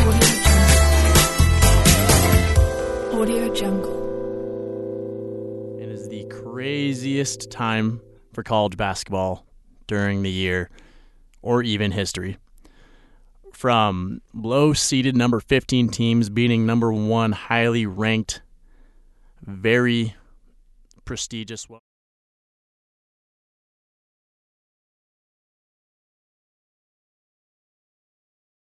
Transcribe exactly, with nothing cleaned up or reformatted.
Audio Jungle. It is the craziest time for college basketball during the year, or even history. From low-seeded number fifteen teams beating number one highly ranked, very prestigious